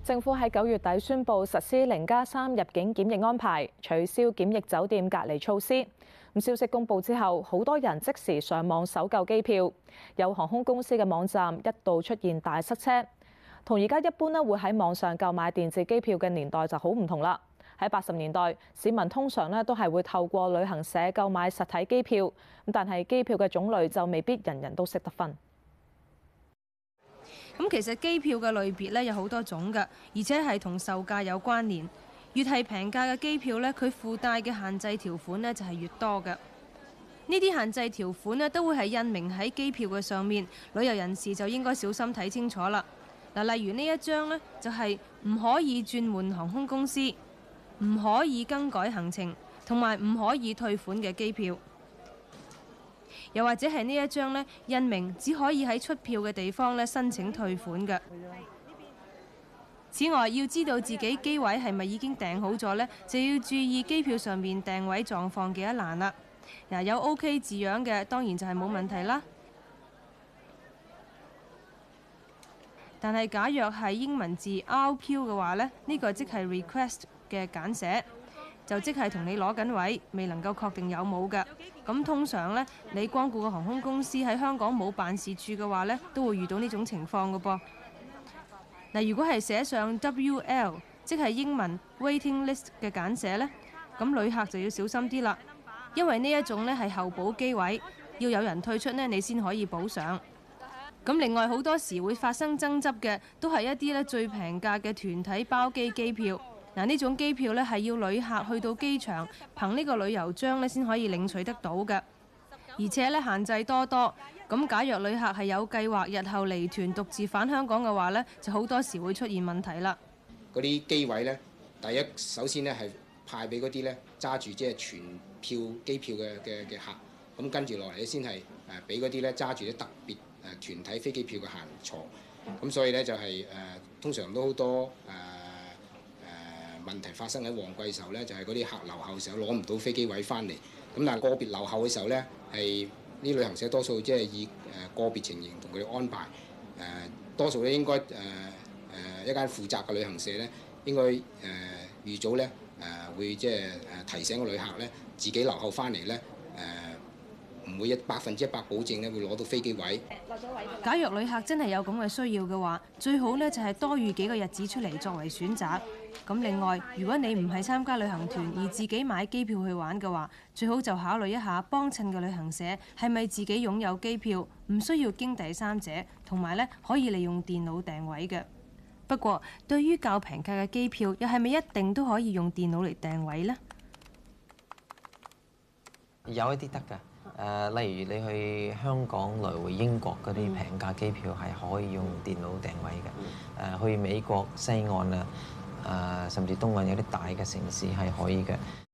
政府喺9月底宣布實施0+3入境檢疫安排，取消檢疫酒店隔離措施。消息公佈之後，好多人即時上網搜購機票，有航空公司嘅網站一度出現大塞車。同而家一般會喺網上購買電子機票嘅年代就好唔同啦。喺80年代，市民通常都係會透過旅行社購買實體機票，但係機票嘅種類就未必人人都識得分。 咁其實機票嘅類別咧有好多種㗎，而且係同售價有關聯。越係平價嘅機票咧，佢附帶嘅限制條款咧就係越多嘅。呢啲限制條款咧都會係印明喺機票嘅上面，旅遊人士就應該小心睇清楚啦。嗱，例如呢一張呢，就係唔可以轉換航空公司、唔可以更改行程同埋唔可以退款嘅機票。又或者係呢一張呢，印明只可以喺出票嘅地方咧申請退款嘅。此外，要知道自己機位係咪已經訂好咗呢，就要注意機票上面訂位狀況嘅一欄啦。嗱，有 OK 字樣嘅當然就係冇問題啦。但係假若係英文字 RQ 嘅話呢，呢個即係 request 嘅簡寫。就即係同你攞緊位，未能夠確定有冇嘅。咁通常呢，你光顧嘅航空公司喺香港冇辦事處嘅話呢，都會遇到呢種情況嘅噃。嗱，如果係寫上 WL， 即係英文 waiting list 嘅簡寫呢，咁旅客就要小心啲啦，因為呢一種呢係候補機位，要有人退出呢，你先可以補上。咁另外好多時會發生爭執嘅，都係一啲呢最平價嘅團體包機機票。嗱，呢種機票呢係要旅客去到機場憑呢個旅遊章呢先可以領取得到嘅，而且呢限制多多。咁假若旅客係有計劃日後離團獨自返香港嘅話呢，就好多時會出現問題啦。 嗰啲機位呢，第一首先呢係派俾嗰啲呢揸住即係全票機票嘅客，咁跟住落嚟先係俾嗰啲呢揸住啲特別團體飛機票嘅客人坐。咁所以呢，就係通常都好多問題發生喺旺季時候呢，就係嗰啲客留後嘅時候攞唔到飛機位翻嚟。咁但係個別留後嘅時候呢，係啲旅行社多數即係以個別情形同佢哋安排。多數咧應該一間負責嘅旅行社呢，應該預早呢會即係提醒個旅客呢，自己留後翻嚟呢，唔會100%保證呢會攞到飛機位。 假若旅客真係有咁嘅需要嘅話，最好呢就係多預幾個日子出嚟作為選擇。咁另外，如果你唔係參加旅行團而自己買機票去玩嘅話，最好就考慮一下幫襯嘅旅行社係咪自己擁有機票，唔需要經第三者，同埋呢可以利用電腦訂位嘅。不過，對於較平價嘅機票，又係咪一定都可以用電腦嚟訂位呢？ 有一啲得㗎，例如你去香港來回英國嗰啲平價機票係可以用電腦訂位嘅。去美國西岸啊，甚至東岸有啲大嘅城市係可以嘅。